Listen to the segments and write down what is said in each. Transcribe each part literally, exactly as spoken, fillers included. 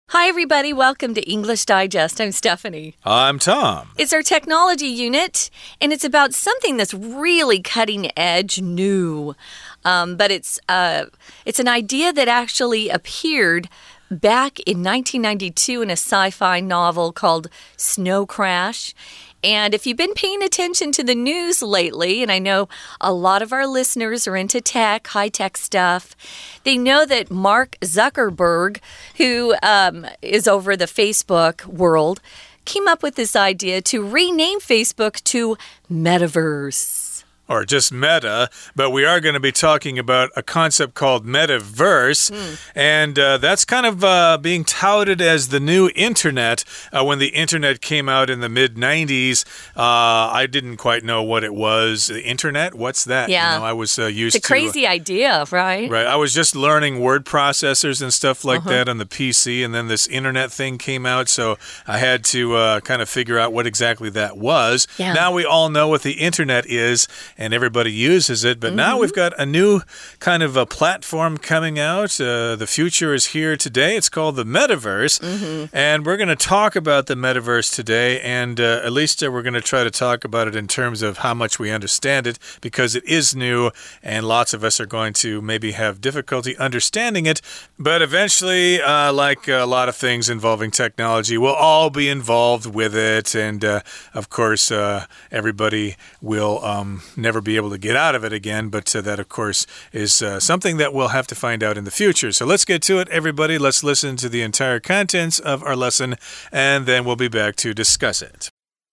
Hi, everybody. Welcome to English Digest. I'm Stephanie. I'm Tom. It's our technology unit, and it's about something that's really cutting edge new. Um, but it's uh, it's an idea that actually appeared back in nineteen ninety-two in a sci-fi novel called Snow Crash. And if you've been paying attention to the news lately, and I know a lot of our listeners are into tech, high-tech stuff, they know that Mark Zuckerberg, who um, is over the Facebook world, came up with this idea to rename Facebook to Metaverse. Or just Meta, but we are going to be talking about a concept called Metaverse, mm. and uh, that's kind of uh, being touted as the new internet. Uh, when the internet came out in the mid nineties, uh, I didn't quite know what it was. The internet? What's that? Yeah. You know, I was uh, used to... It's a crazy to, uh, idea, right? Right. I was just learning word processors and stuff like uh-huh. that on the P C, and then this internet thing came out, so I had to uh, kind of figure out what exactly that was. Yeah. Now we all know what the internet is, and everybody uses it, but mm-hmm. now we've got a new kind of a platform coming out. Uh, the future is here today. It's called the Metaverse, mm-hmm. and we're going to talk about the Metaverse today, and uh, at least uh, we're going to try to talk about it in terms of how much we understand it, because it is new, and lots of us are going to maybe have difficulty understanding it, but eventually, uh, like a lot of things involving technology, we'll all be involved with it, and uh, of course, uh, everybody will um, never be able to get out of it again, but uh, that, of course, is uh, something that we'll have to find out in the future. So let's get to it, everybody. Let's listen to the entire contents of our lesson, and then we'll be back to discuss it.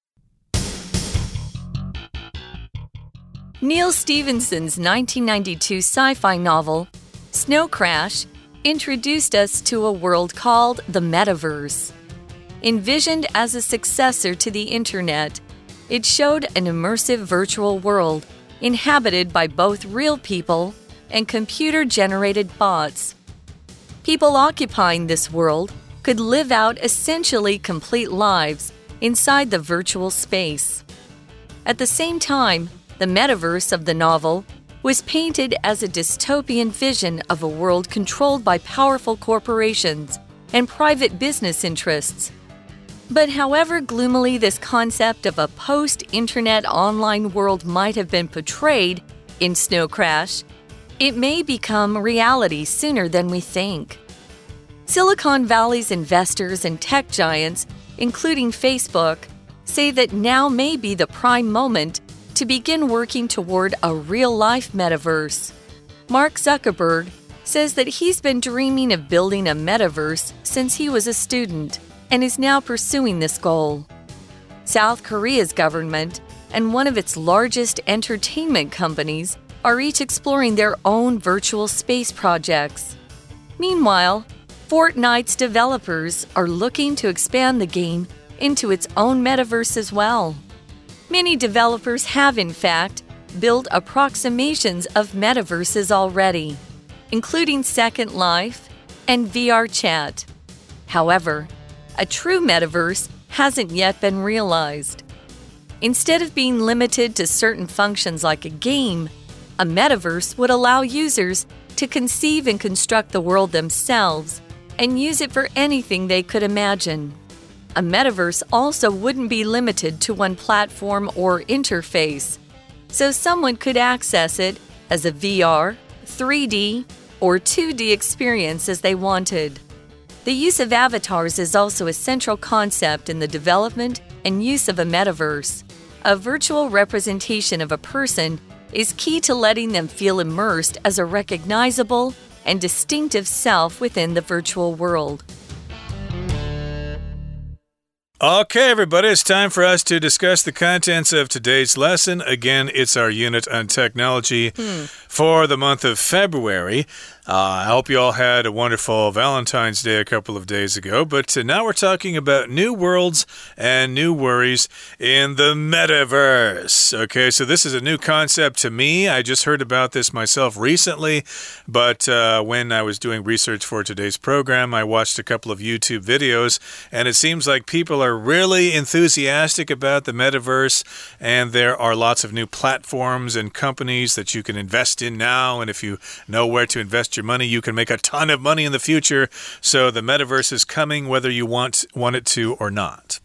Neal Stephenson's nineteen ninety-two sci-fi novel, Snow Crash, introduced us to a world called the Metaverse. Envisioned as a successor to the Internet, it showed an immersive virtual world inhabited by both real people and computer-generated bots. People occupying this world could live out essentially complete lives inside the virtual space. At the same time, the metaverse of the novel was painted as a dystopian vision of a world controlled by powerful corporations and private business interests. But however gloomily this concept of a post-internet online world might have been portrayed in Snow Crash, it may become reality sooner than we think. Silicon Valley's investors and tech giants, including Facebook, say that now may be the prime moment to begin working toward a real-life metaverse. Mark Zuckerberg says that he's been dreaming of building a metaverse since he was a student, and is now pursuing this goal. South Korea's government and one of its largest entertainment companies are each exploring their own virtual space projects. Meanwhile, Fortnite's developers are looking to expand the game into its own metaverse as well. Many developers have, in fact, built approximations of metaverses already, including Second Life and V R Chat. However, a true metaverse hasn't yet been realized. Instead of being limited to certain functions like a game, a metaverse would allow users to conceive and construct the world themselves and use it for anything they could imagine. A metaverse also wouldn't be limited to one platform or interface, so someone could access it as a V R, three D, or two D experience as they wanted. The use of avatars is also a central concept in the development and use of a metaverse. A virtual representation of a person is key to letting them feel immersed as a recognizable and distinctive self within the virtual world. Okay, everybody, it's time for us to discuss the contents of today's lesson. Again, it's our unit on technology hmm. for the month of February. Uh, I hope you all had a wonderful Valentine's Day a couple of days ago, but uh, now we're talking about new worlds and new worries in the metaverse. Okay, so this is a new concept to me. I just heard about this myself recently, but uh, when I was doing research for today's program, I watched a couple of YouTube videos, and it seems like people are really enthusiastic about the metaverse, and there are lots of new platforms and companies that you can invest in now, and if you know where to invest invest your money, you can make a ton of money in the future. So the metaverse is coming whether you want, want it to or not.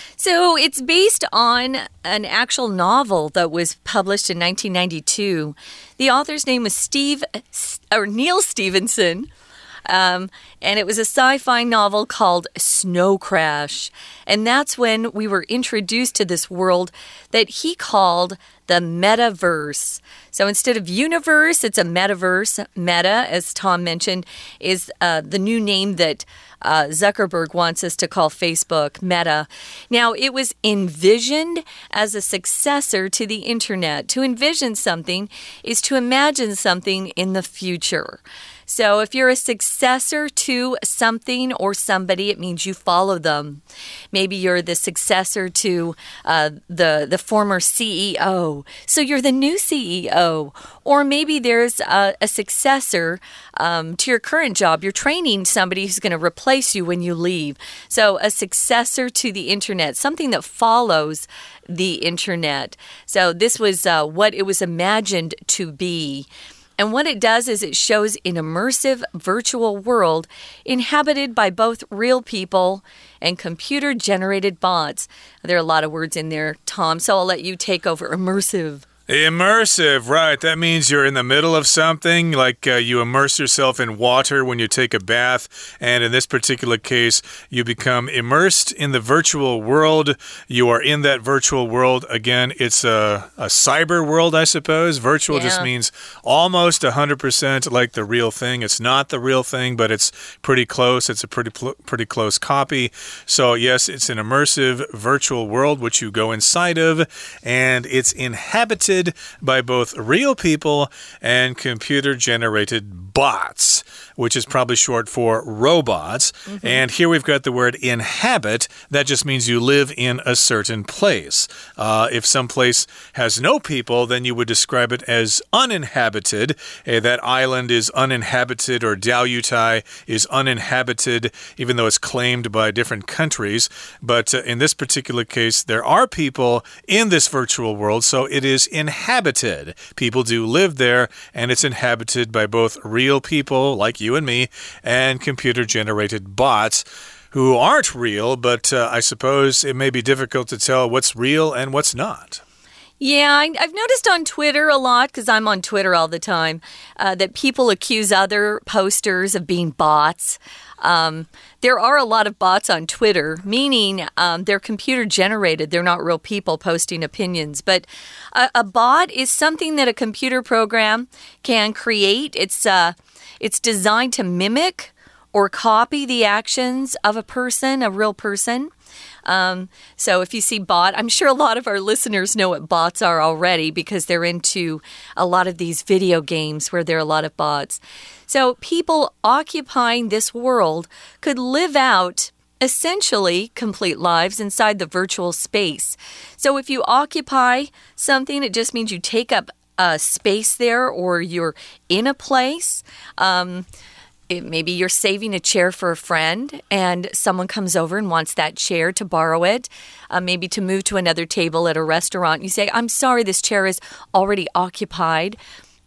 So it's based on an actual novel that was published in nineteen ninety-two. The author's name was Steve or Neil Stephenson. Um, and it was a sci-fi novel called Snow Crash. And that's when we were introduced to this world that he called the metaverse. So instead of universe, it's a metaverse. Meta, as Tom mentioned, is uh, the new name that uh, Zuckerberg wants us to call Facebook, Meta. Now, it was envisioned as a successor to the internet. To envision something is to imagine something in the future. So if you're a successor to something or somebody, it means you follow them. Maybe you're the successor to uh, the, the former C E O, so you're the new C E O. Or maybe there's a, a successor um, to your current job. You're training somebody who's going to replace you when you leave. So a successor to the internet, something that follows the internet. So this was uh, what it was imagined to be. And what it does is it shows an immersive virtual world inhabited by both real people and computer-generated bots. There are a lot of words in there, Tom, so I'll let you take over. Immersive. Immersive, right. That means you're in the middle of something, like uh, you immerse yourself in water when you take a bath. And in this particular case, you become immersed in the virtual world. You are in that virtual world. Again, it's a, a cyber world, I suppose. Virtual yeah. just means almost one hundred percent like the real thing. It's not the real thing, but it's pretty close. It's a pretty, pretty close copy. So, yes, it's an immersive virtual world which you go inside of, and it's inhabited by both real people and computer-generated bots, which is probably short for robots. Mm-hmm. And here we've got the word inhabit. That just means you live in a certain place. Uh, if some place has no people, then you would describe it as uninhabited. Uh, that island is uninhabited, or Diaoyutai is uninhabited, even though it's claimed by different countries. But uh, in this particular case, there are people in this virtual world, so it is inhabited. People do live there, and it's inhabited by both real people, like you and me, and computer-generated bots who aren't real, but uh, I suppose it may be difficult to tell what's real and what's not. Yeah, I, I've noticed on Twitter a lot, because I'm on Twitter all the time, uh, that people accuse other posters of being bots. Um, there are a lot of bots on Twitter, meaning um, they're computer-generated. They're not real people posting opinions. But a, a bot is something that a computer program can create. It's uh, it's designed to mimic or copy the actions of a person, a real person. Um, so if you see bot, I'm sure a lot of our listeners know what bots are already, because they're into a lot of these video games where there are a lot of bots. So people occupying this world could live out essentially complete lives inside the virtual space. So if you occupy something, it just means you take up a space there, or you're in a place. Um, It, maybe you're saving a chair for a friend, and someone comes over and wants that chair to borrow it, uh, maybe to move to another table at a restaurant. You say, I'm sorry, this chair is already occupied,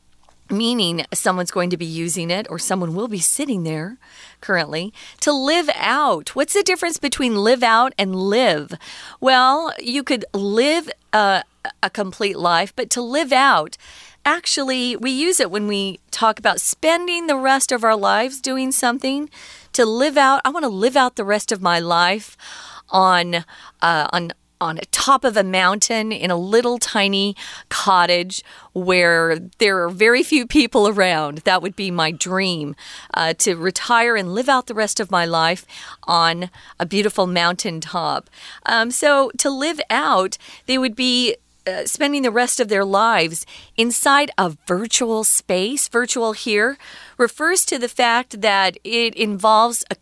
meaning someone's going to be using it, or someone will be sitting there currently. To live out. What's the difference between live out and live? Well, you could live uh, a complete life, but to live out, actually, we use it when we talk about spending the rest of our lives doing something. To live out, I want to live out the rest of my life on uh, on on top of a mountain in a little tiny cottage where there are very few people around. That would be my dream, uh, to retire and live out the rest of my life on a beautiful mountaintop. Um, so to live out, they would be Uh, spending the rest of their lives inside a virtual space. Virtual here refers to the fact that it involves a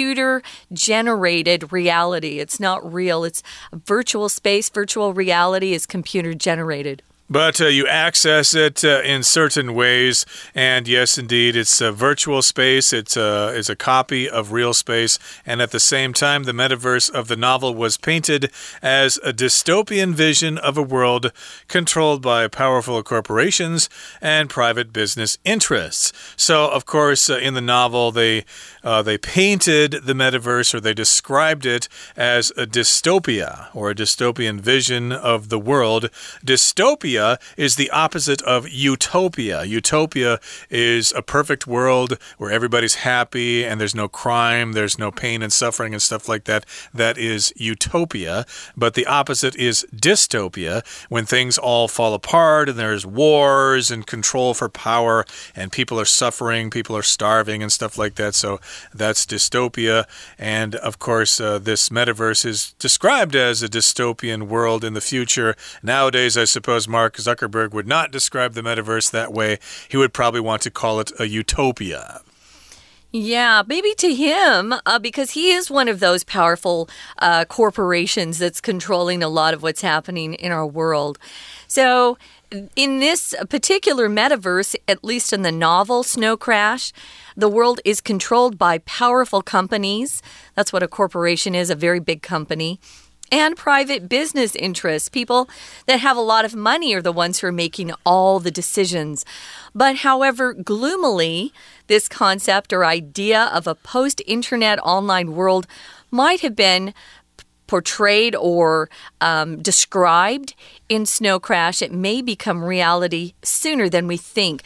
computer-generated reality. It's not real. It's a virtual space. Virtual reality is computer-generated. But uh, you access it uh, in certain ways. And yes, indeed, it's a virtual space. It's a, it's a copy of real space. And at the same time, the metaverse of the novel was painted as a dystopian vision of a world controlled by powerful corporations and private business interests. So, of course, uh, in the novel, they, uh, they painted the metaverse, or they described it as a dystopia, or a dystopian vision of the world. Dystopia is the opposite of utopia. Utopia is a perfect world where everybody's happy and there's no crime, there's no pain and suffering and stuff like that. That is utopia. But the opposite is dystopia, when things all fall apart and there's wars and control for power and people are suffering, people are starving and stuff like that. So that's dystopia. And of course, uh, this metaverse is described as a dystopian world in the future. Nowadays, I suppose Mark Zuckerberg would not describe the metaverse that way. He would probably want to call it a utopia. Yeah, maybe to him, uh, because he is one of those powerful uh, corporations that's controlling a lot of what's happening in our world. So in this particular metaverse, at least in the novel Snow Crash, the world is controlled by powerful companies. That's what a corporation is, a very big company. And private business interests. People that have a lot of money are the ones who are making all the decisions. But however, gloomily, this concept or idea of a post-internet online world might have been portrayed or um, described in Snow Crash. It may become reality sooner than we think.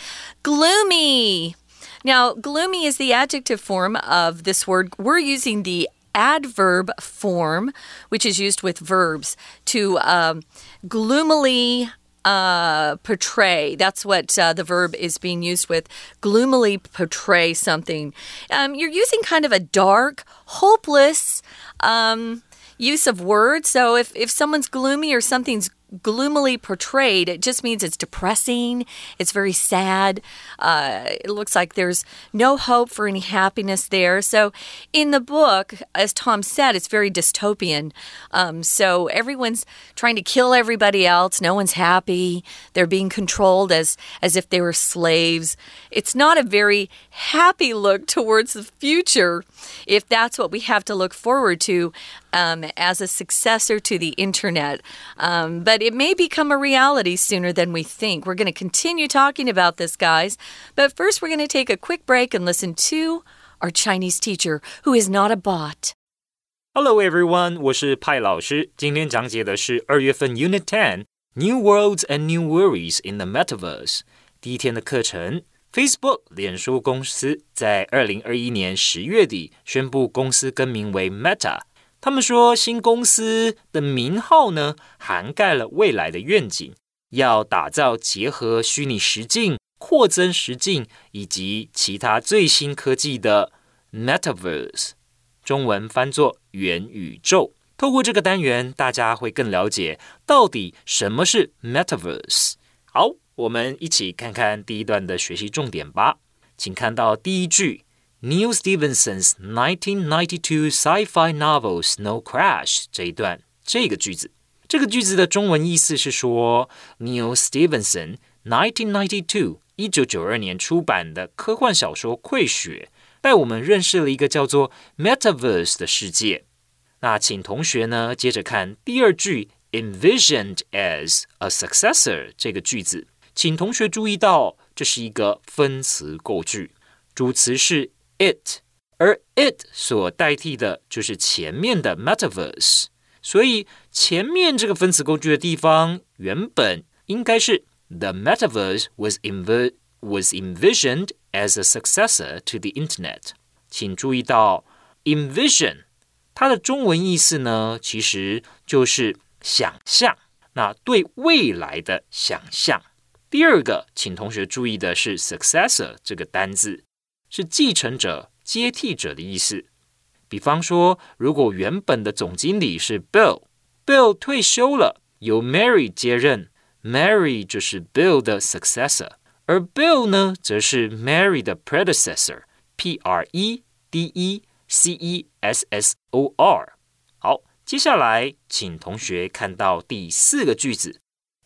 Gloomy! Now, gloomy is the adjective form of this word. We're using the adverb form, which is used with verbs, to um, gloomily uh, portray. That's what uh, the verb is being used with. Gloomily portray something. Um, you're using kind of a dark, hopeless um, use of words. So if, if someone's gloomy or something's gloomily portrayed, it just means it's depressing, it's very sad, uh, it looks like there's no hope for any happiness there. So in the book, as Tom said, it's very dystopian. Um, so everyone's trying to kill everybody else, no one's happy, they're being controlled as, as if they were slaves. It's not a very happy look towards the future if that's what we have to look forward to um, as a successor to the internet. Um, but it may become a reality sooner than we think. We're going to continue talking about this, guys. But first, we're going to take a quick break and listen to our Chinese teacher, who is not a bot. Hello, everyone. 我是派老師。今天講解的是二月份 Unit ten New Worlds and New Worries in the Metaverse 第一天的課程。Facebook 臉書公司在二零二一年十月底宣布公司更名為 Meta。他們說新公司的名號呢，涵蓋了未來的願景，要打造結合虛擬實境、擴增實境以及其他最新科技的 Metaverse， 中文翻作元宇宙。透過這個單元，大家會更了解到底什麼是 Metaverse。好，我們一起看看第一段的學習重點吧。請看到第一句 Neil Stephenson's nineteen ninety-two sci-fi novel Snow Crash 這一段，這個句子，這個句子的中文意思是說 Neil Stephenson nineteen ninety-two 一九九二年出版的科幻小說《潰雪》帶我們認識了一個叫做 Metaverse 的世界。那請同學呢接着看第二句 Envisioned as a successor 這個句子，請同學注意到這是一個分詞構句，主詞是 it， 而 it 所代替的就是前面的 Metaverse， 所以前面這個分詞構句的地方原本應該是 The Metaverse was, env- was envisioned as a successor to the Internet。 請注意到 envision 它的中文意思呢，其實就是想象，那對未來的想象。第二個，請同學注意的是 successor 這個單字，是繼承者、接替者的意思。比方說，如果原本的總經理是 Bill，Bill 退休了，由 Mary 接任， Mary 就是 Bill 的 successor， 而 Bill 呢，則是 Mary 的 predecessor， P R E D E C E S S O R。 好，接下來請同學看到第四個句子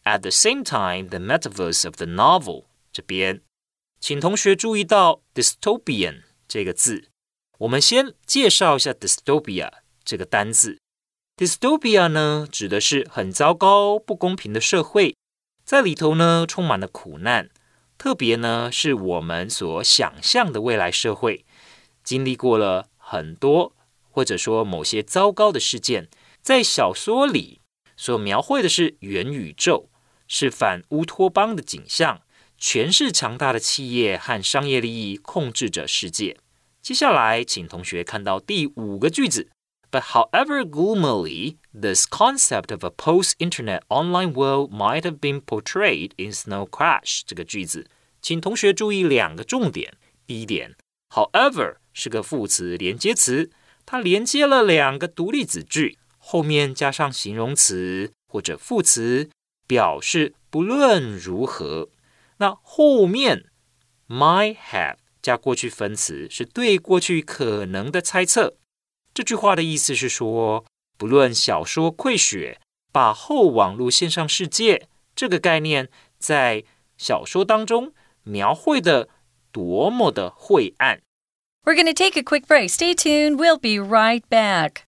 At the same time, the metaverse of the novel 這邊，請同學注意到 dystopian 這個字。我們先介紹一下 dystopia 這個單字。Dystopia 呢，指的是很糟糕、不公平的社會，在裡頭呢充滿了苦難，特別呢是我們所想象的未來社會，經歷過了很多或者說某些糟糕的事件。在小說裡所描繪的是元宇宙。是反烏托邦的景象，全是強大的企業和商業利益控制着世界。接下來，請同學看到第五個句子。But however gloomily, this concept of a post-internet online world might have been portrayed in Snow Crash 這個句子，請同學注意兩個重點。第一點 ，however 是個副詞連接詞，它連接了兩個獨立子句，後面加上形容詞或者副詞。表示不論如何，那後面 might have 加過去分詞是對過去可能的猜測。這句話的意思是說，不論小說潰血，把後網絡線上世界這個概念在小說當中描繪的多麼的晦暗。 We're going to take a quick break. Stay tuned. We'll be right back.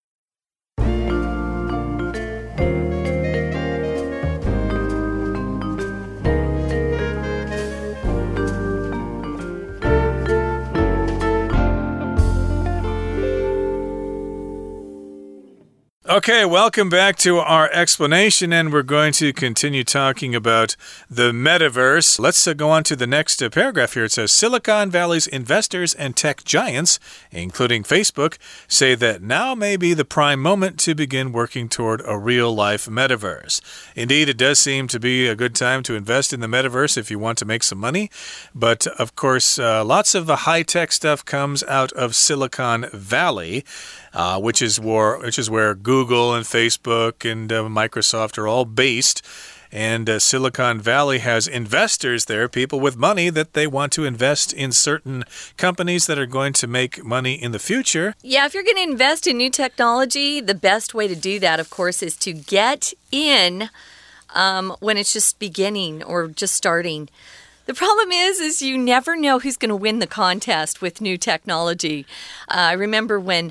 Okay, welcome back to our explanation, and we're going to continue talking about the metaverse. Let's uh, go on to the next uh, paragraph here. It says, Silicon Valley's investors and tech giants, including Facebook, say that now may be the prime moment to begin working toward a real-life metaverse. Indeed, it does seem to be a good time to invest in the metaverse if you want to make some money. But, of course, uh, lots of the high-tech stuff comes out of Silicon Valley. Uh, which is where which is where Google and Facebook and uh, Microsoft are all based. And uh, Silicon Valley has investors there, people with money that they want to invest in certain companies that are going to make money in the future. Yeah, if you're going to invest in new technology, the best way to do that, of course, is to get in um, when it's just beginning or just starting. The problem is, is you never know who's going to win the contest with new technology. Uh, I remember when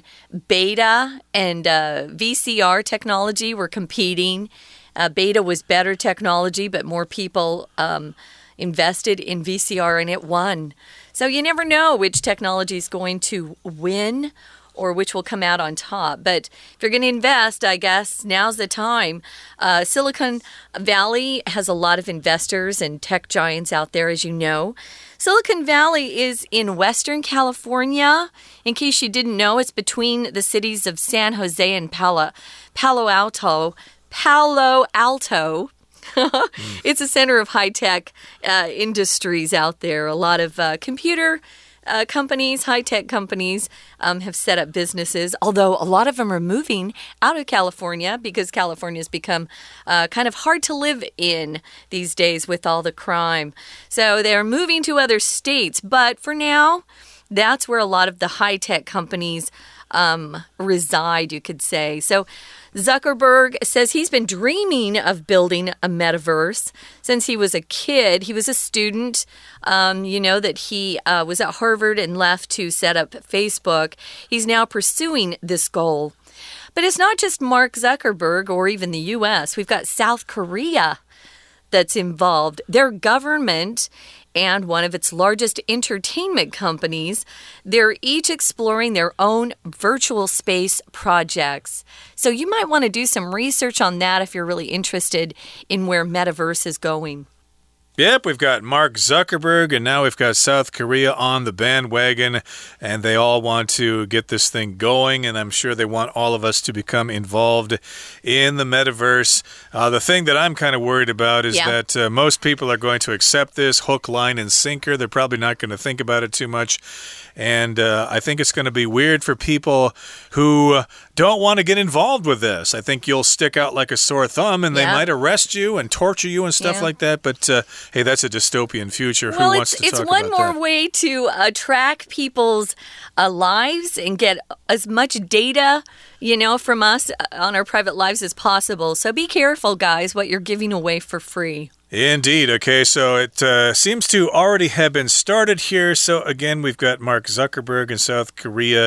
beta and uh, V C R technology were competing. Uh, beta was better technology, but more people um, invested in V C R and it won. So you never know which technology is going to win or which will come out on top. But if you're going to invest, I guess now's the time. Uh, Silicon Valley has a lot of investors and tech giants out there, as you know. Silicon Valley is in Western California. In case you didn't know, it's between the cities of San Jose and Palo, Palo Alto. Palo Alto. It's a center of high-tech uh, industries out there. A lot of uh, computer Uh, companies, high-tech companies, um, have set up businesses, although a lot of them are moving out of California because California has become uh, kind of hard to live in these days with all the crime. So they're moving to other states, but for now, that's where a lot of the high-tech companies um, reside, you could say. So Zuckerberg says he's been dreaming of building a metaverse since he was a kid. He was a student. Um, you know that he uh, was at Harvard and left to set up Facebook. He's now pursuing this goal. But it's not just Mark Zuckerberg or even the U S. We've got South Korea that's involved. Their government and one of its largest entertainment companies, they're each exploring their own virtual space projects. So you might want to do some research on that if you're really interested in where metaverse is going. Yep, we've got Mark Zuckerberg, and now we've got South Korea on the bandwagon, and they all want to get this thing going, and I'm sure they want all of us to become involved in the metaverse. Uh, the thing that I'm kind of worried about is yeah. that uh, most people are going to accept this hook, line, and sinker. They're probably not going to think about it too much. And uh, I think it's going to be weird for people who don't want to get involved with this. I think you'll stick out like a sore thumb, and they yeah. might arrest you and torture you and stuff yeah. like that. But uh, hey, that's a dystopian future. Well, Who wants it's, to it's talk one about more that? way to uh, track people's uh, lives and get as much data, you know, from us on our private lives as possible. So be careful, guys, what you're giving away for free. Indeed. Okay, so it uh, seems to already have been started here. So again, we've got Mark Zuckerberg in South Korea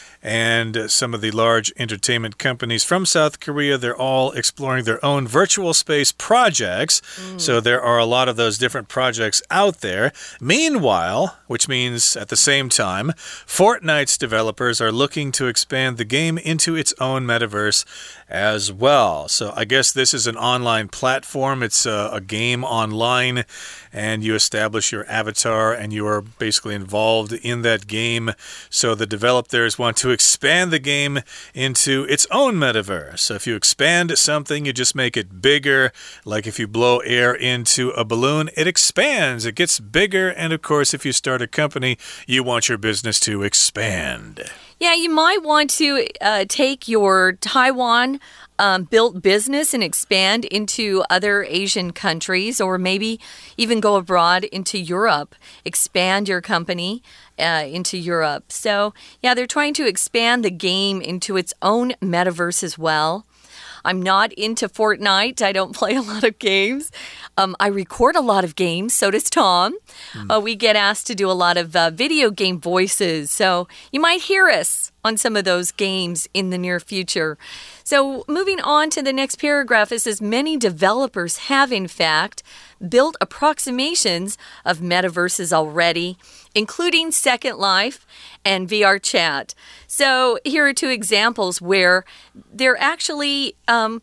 and uh, some of the large entertainment companies from South Korea. They're all exploring their own virtual space projects. Mm. So there are a lot of those different projects out there. Meanwhile, which means at the same time, Fortnite's developers are looking to expand the game into its own metaverse as well. So I guess this is an online platform. It's a, a game online, and you establish your avatar and you are basically involved in that game. So the developers want to expand the game into its own metaverse. So if you expand something, you just make it bigger. Like if you blow air into a balloon, it expands, it gets bigger. And of course, if you start a company, you want your business to expand. Yeah, you might want to uh, take your Taiwan um, built business and expand into other Asian countries, or maybe even go abroad into Europe, expand your company uh, into Europe. So, yeah, they're trying to expand the game into its own metaverse as well. I'm not into Fortnite. I don't play a lot of games. Um, I record a lot of games. So does Tom. Mm. Uh, we get asked to do a lot of uh, video game voices. So you might hear us on some of those games in the near future. So moving on to the next paragraph, it says many developers have, in fact, built approximations of metaverses already, including Second Life and V R Chat. So here are two examples where they're actually um,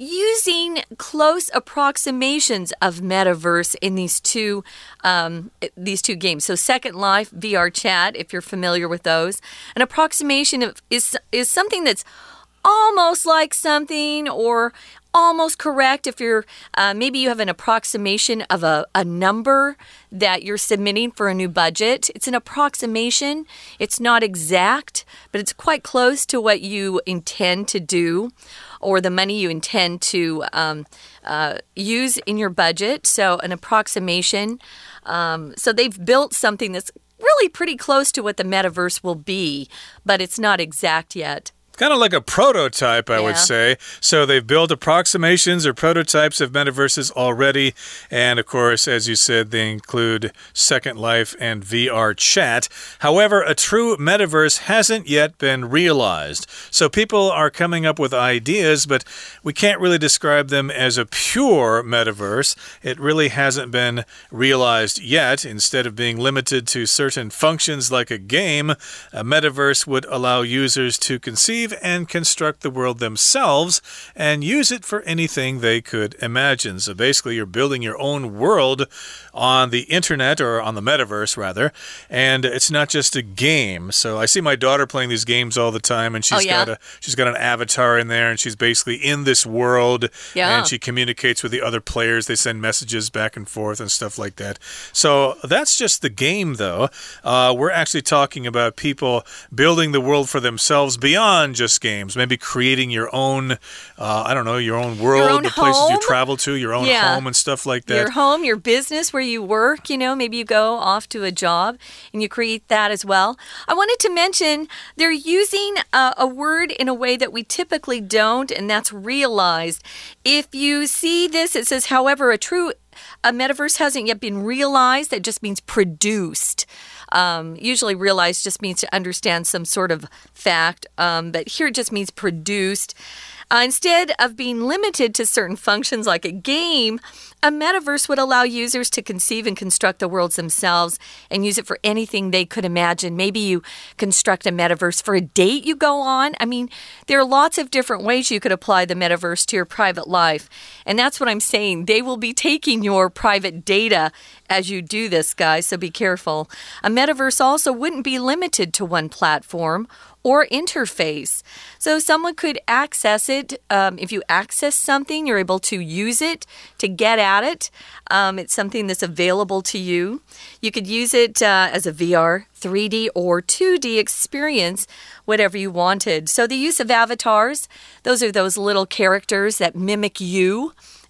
using close approximations of metaverse in these two um, these two games. So Second Life, V R Chat, if you're familiar with those, an approximation of, is is something that's almost like something, or almost correct if you're uh, maybe you have an approximation of a, a number that you're submitting for a new budget. It's an approximation. It's not exact, but it's quite close to what you intend to do, or the money you intend to um, uh, use in your budget. So an approximation. Um, so they've built something that's really pretty close to what the metaverse will be, but it's not exact yet. Kind of like a prototype, I yeah. would say. So they've built approximations or prototypes of metaverses already. And of course, as you said, they include Second Life and V R Chat. However, a true metaverse hasn't yet been realized. So people are coming up with ideas, but we can't really describe them as a pure metaverse. It really hasn't been realized yet. Instead of being limited to certain functions like a game, a metaverse would allow users to conceive and construct the world themselves and use it for anything they could imagine. So basically, you're building your own world on the internet, or on the metaverse, rather, and it's not just a game. So I see my daughter playing these games all the time, and she's oh, yeah? got a she's got an avatar in there, and she's basically in this world, yeah. and she communicates with the other players. They send messages back and forth and stuff like that. So that's just the game, though. Uh, we're actually talking about people building the world for themselves beyond just games, maybe creating your own, uh, I don't know, your own world, your own the places home? you travel to, your own yeah. home and stuff like that. Your home, your business, where you work, you know, maybe you go off to a job and you create that as well. I wanted to mention they're using a, a word in a way that we typically don't, and that's realized. If you see this, it says, however, a true a metaverse hasn't yet been realized. That just means produced. Um, usually realized just means to understand some sort of fact, um, but here it just means produced. Uh, instead of being limited to certain functions like a game, a metaverse would allow users to conceive and construct the worlds themselves and use it for anything they could imagine. Maybe you construct a metaverse for a date you go on. I mean, there are lots of different ways you could apply the metaverse to your private life. And that's what I'm saying. They will be taking your private data as you do this, guys, so be careful. A metaverse also wouldn't be limited to one platform or interface. So someone could access it. Um, if you access something, you're able to use it to get at it. Um, it's something that's available to you. You could use it uh, as a V R, three D, or two D experience, whatever you wanted. So the use of avatars, those are those little characters that mimic you.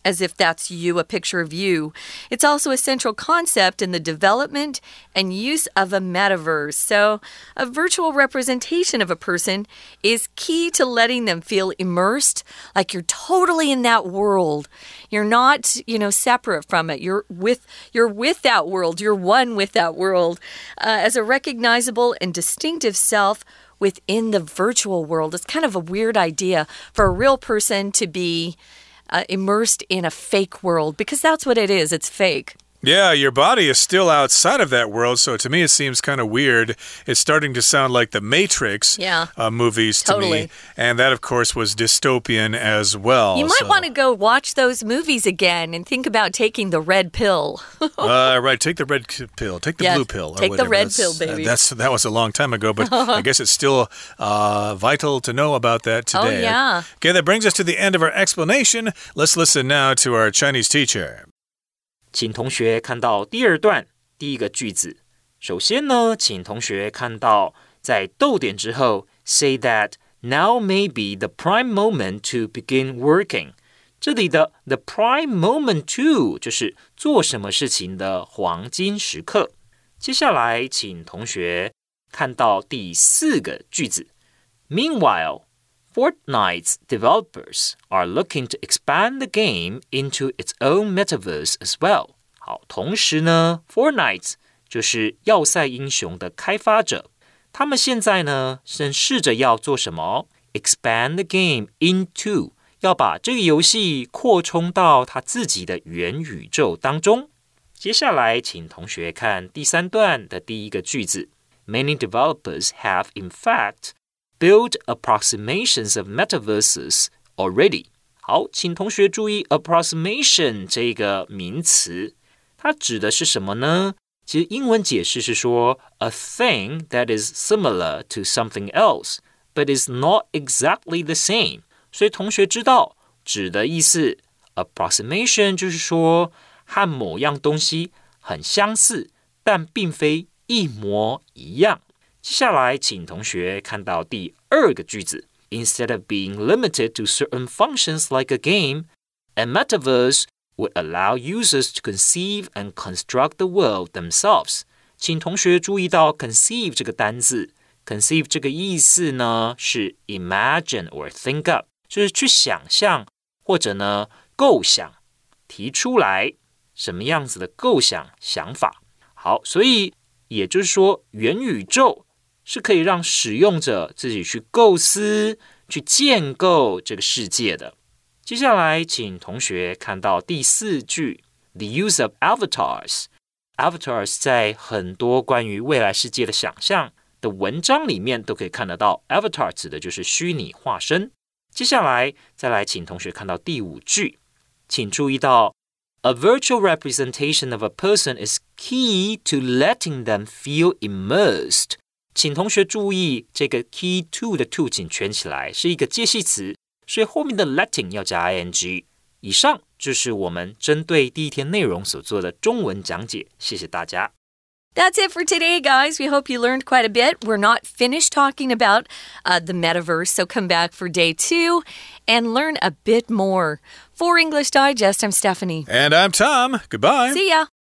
as if that's you, a picture of you. It's also a central concept in the development and use of a metaverse. So, a virtual representation of a person is key to letting them feel immersed, like you're totally in that world. You're not, you know, separate from it. You're with, you're with that world. You're one with that world. Uh, as a recognizable and distinctive self within the virtual world. It's kind of a weird idea for a real person to be uh, immersed in a fake world, because that's what it is. It's fake. Yeah, your body is still outside of that world, so to me it seems kind of weird. It's starting to sound like the Matrix yeah, uh, movies to totally. me. And that, of course, was dystopian as well. You might so. want to go watch those movies again and think about taking the red pill. uh, right, take the red pill. Take the yes, blue pill. Or take whatever. the red that's, pill, baby. Uh, that's, that was a long time ago, but I guess it's still uh, vital to know about that today. Oh, yeah. Okay, that brings us to the end of our explanation. Let's listen now to our Chinese teacher. 請同學看到第二段第一個句子。首先呢，請同學看到在逗點之後 say that now may be the prime moment to begin working。這裡的 the prime moment to 就是做什麼事情的黃金時刻。接下來，請同學看到第四個句子。Meanwhile, Fortnite's developers are looking to expand the game into its own metaverse as well. 好，同時呢 ，Fortnite 就是要塞英雄的開發者，他們現在呢正試着要做什麼 ？Expand the game into， 要把這個遊戲擴充到他自己的元宇宙當中。接下來，請同學看第三段的第一個句子。Many developers have, in fact,Build approximations of metaverses already. 好，請同學注意 approximation 這個名詞，它指的是什麼呢？其實英文解釋是說 a thing that is similar to something else, but is not exactly the same. 所以同學知道指的意思 approximation 就是說和某樣東西很相似，但並非一模一樣。接下來，請同學看到第二個句子。Instead of being limited to certain functions like a game, a metaverse would allow users to conceive and construct the world themselves. 請同學注意到 conceive 這個單字 ，conceive 這個意思呢是 imagine or think up， 就是去想象或者呢構想，提出來什麼樣子的構想想法。好，所以也就是說，元宇宙是可以讓使用者自己去構思、去建構這個世界的。接下來，請同學看到第四句 ，the use of avatars。avatars 在很多關於未來世界的想象的文章裡面都可以看得到 ，avatar 指的就是虛擬化身。接下來，再來請同學看到第五句，請注意到 ，a virtual representation of a person is key to letting them feel immersed。請同學注意，這個 key to 的 to 請圈起來，是一個介系詞，所以後面的 letting 要加 ing。以上就是我們針對第一天內容所做的中文講解，謝謝大家。 That's it for today, guys. We hope you learned quite a bit. We're not finished talking about uh, the metaverse, so come back for day two and learn a bit more. For English Digest, I'm Stephanie. And I'm Tom. Goodbye. See ya.